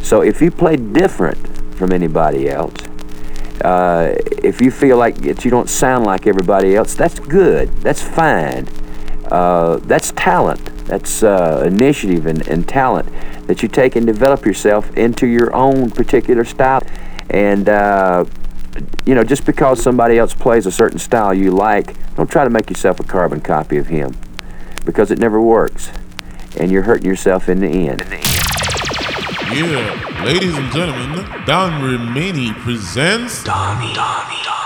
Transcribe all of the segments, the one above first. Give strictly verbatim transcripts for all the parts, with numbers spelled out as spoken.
So if you play different from anybody else, uh, if you feel like that you don't sound like everybody else, that's good. That's fine. Uh, that's talent. That's uh, initiative and, and talent that you take and develop yourself into your own particular style. And, uh, you know, just because somebody else plays a certain style you like, don't try to make yourself a carbon copy of him, because it never works. And you're hurting yourself in the end. Yeah, ladies and gentlemen, Don Remini presents Donnie, Donnie, Donnie.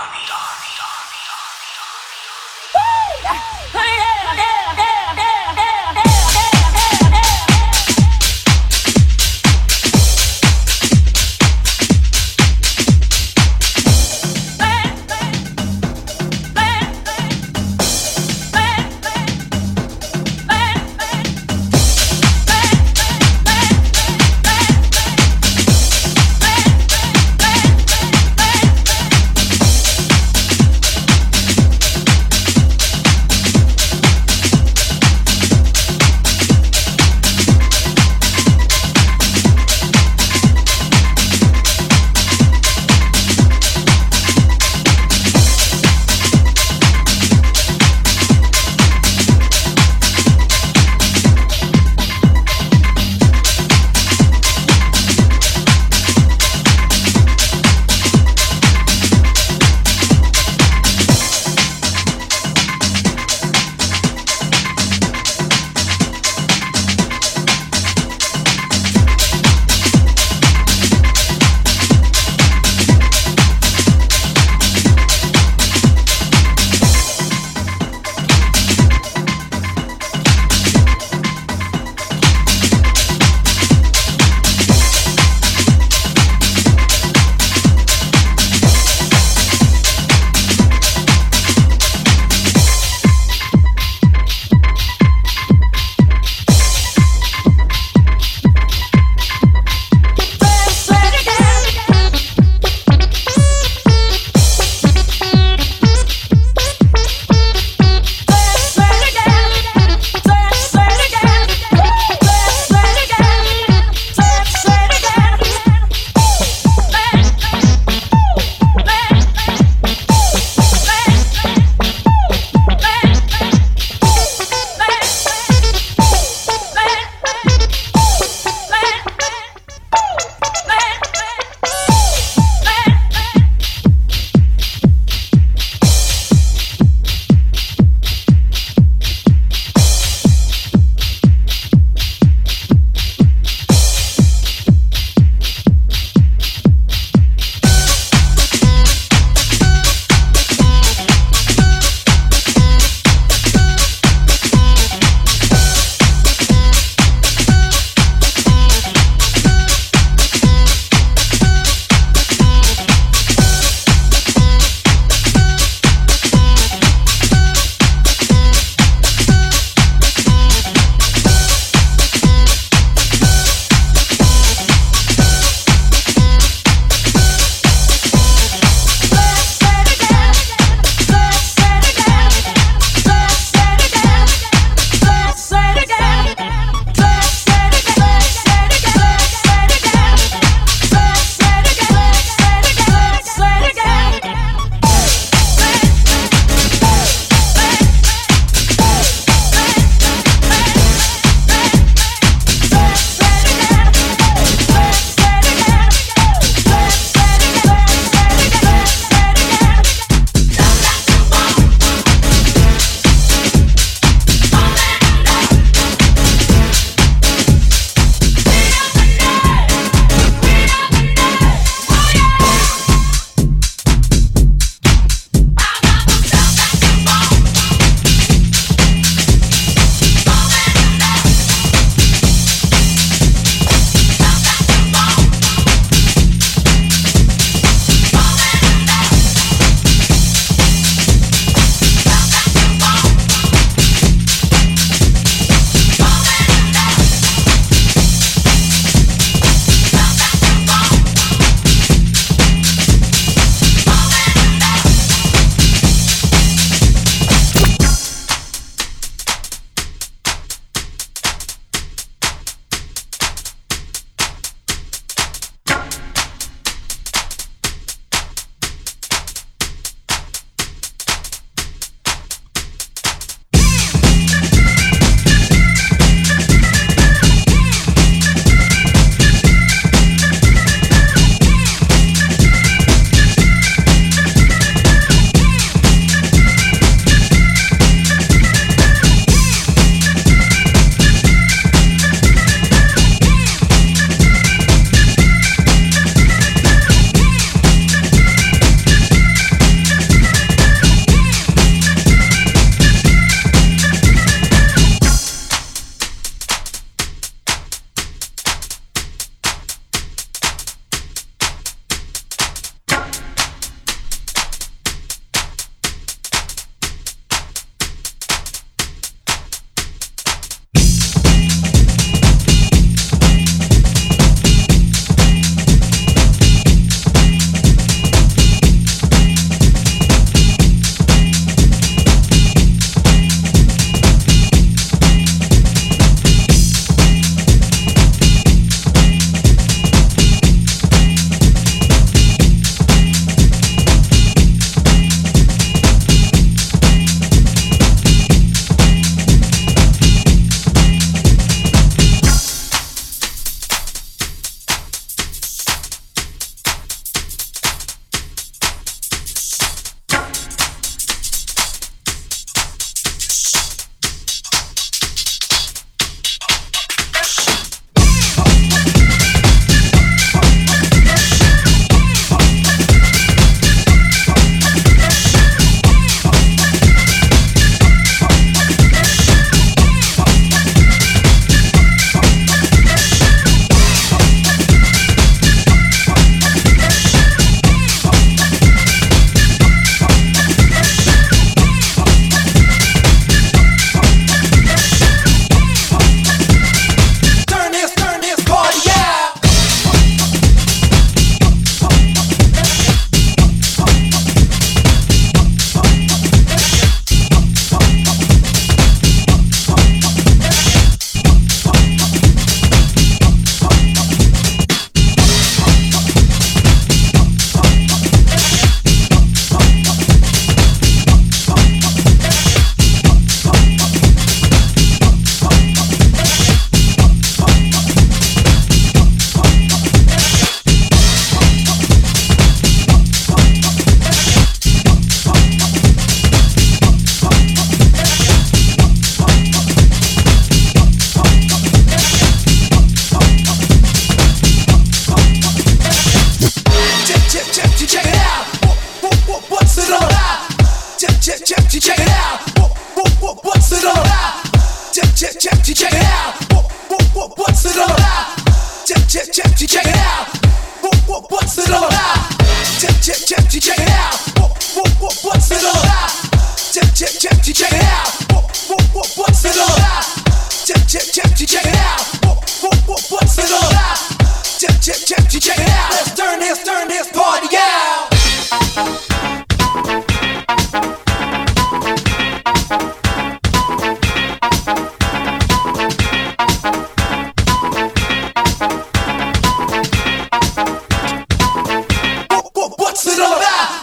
check, check, check it out. What, what, what's it all about? Check, check, check, check it out. What, what, what, what's it all about? Check, check, check, check it out. What, what, what, what's it all about? Check, check, check, check it out. What, what, what, what's it all about? Check, check, check, check it out. Let's turn this, turn this party out. What's it all about?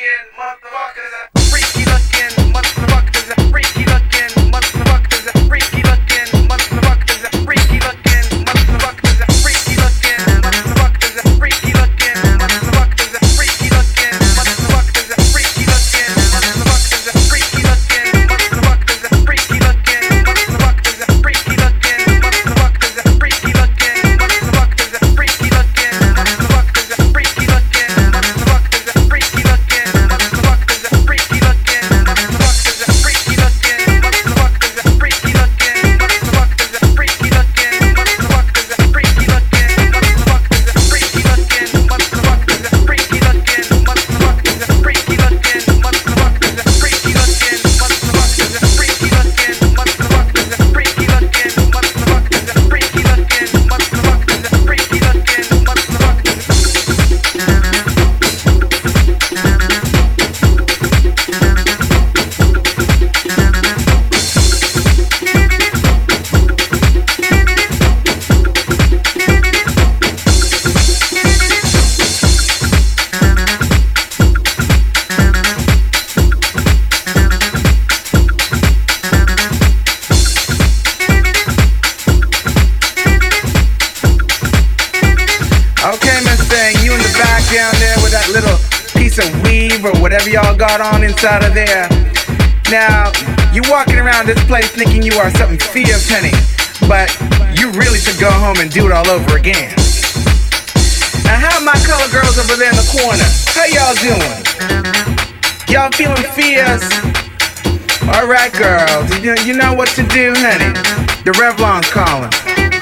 Y'all got on inside of there. Now, you walking around this place thinking you are something fierce, honey, but you really should go home and do it all over again. Now, how are my color girls over there in the corner? How y'all doing? Y'all feeling fierce? Alright, girls, you, you know what to do, honey. The Revlon's calling.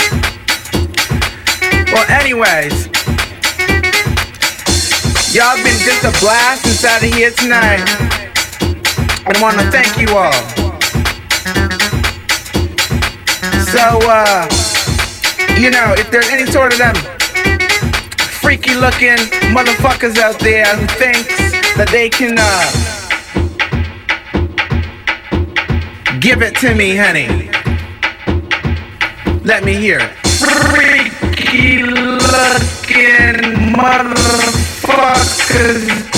Well, anyways, y'all been just a blast inside of here tonight. I want to thank you all. So, uh, you know, if there's any sort of them freaky looking motherfuckers out there who thinks that they can, uh, give it to me, honey, let me hear it. Freaky looking motherfuckers.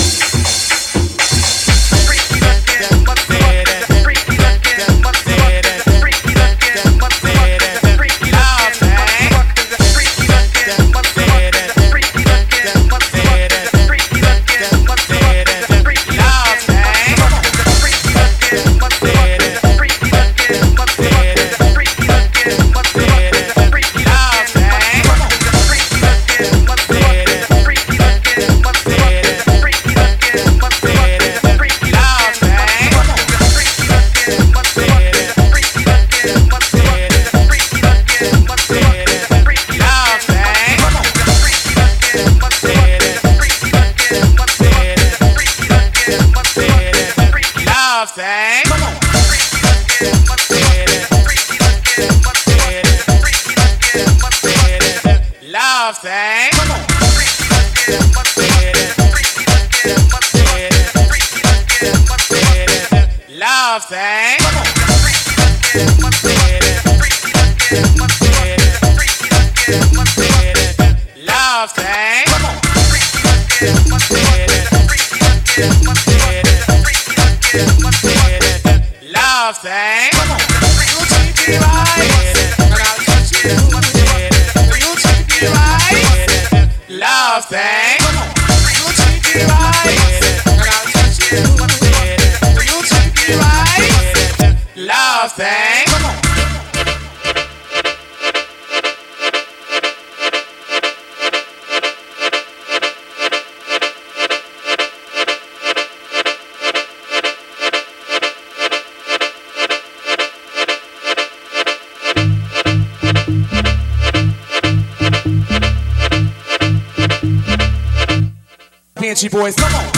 Banshee boys, come on.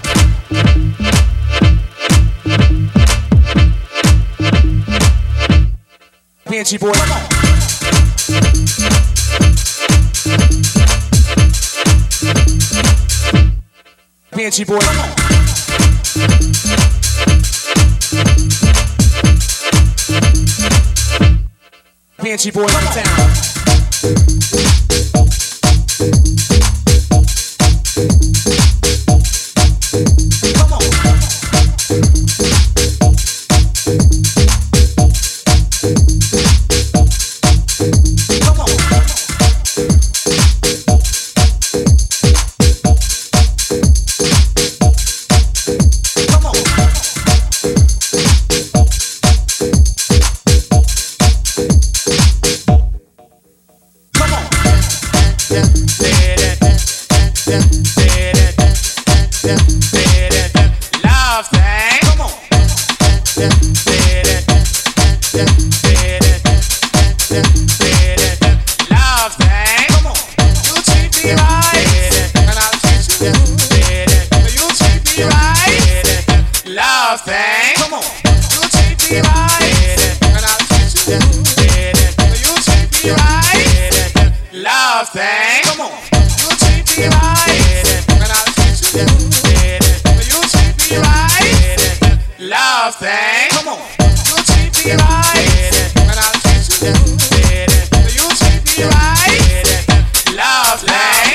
Banshee boys, come on. Banshee boys, come on. Banshee boys in town. Come love thing. Come on, you treat me right, and I'll treat you good. You treat me right, love thing. Come on, you treat me right, and I'll treat you good. You treat me right, love thing. Come on, you treat me right, and I'll treat you good. You treat me right, love thing.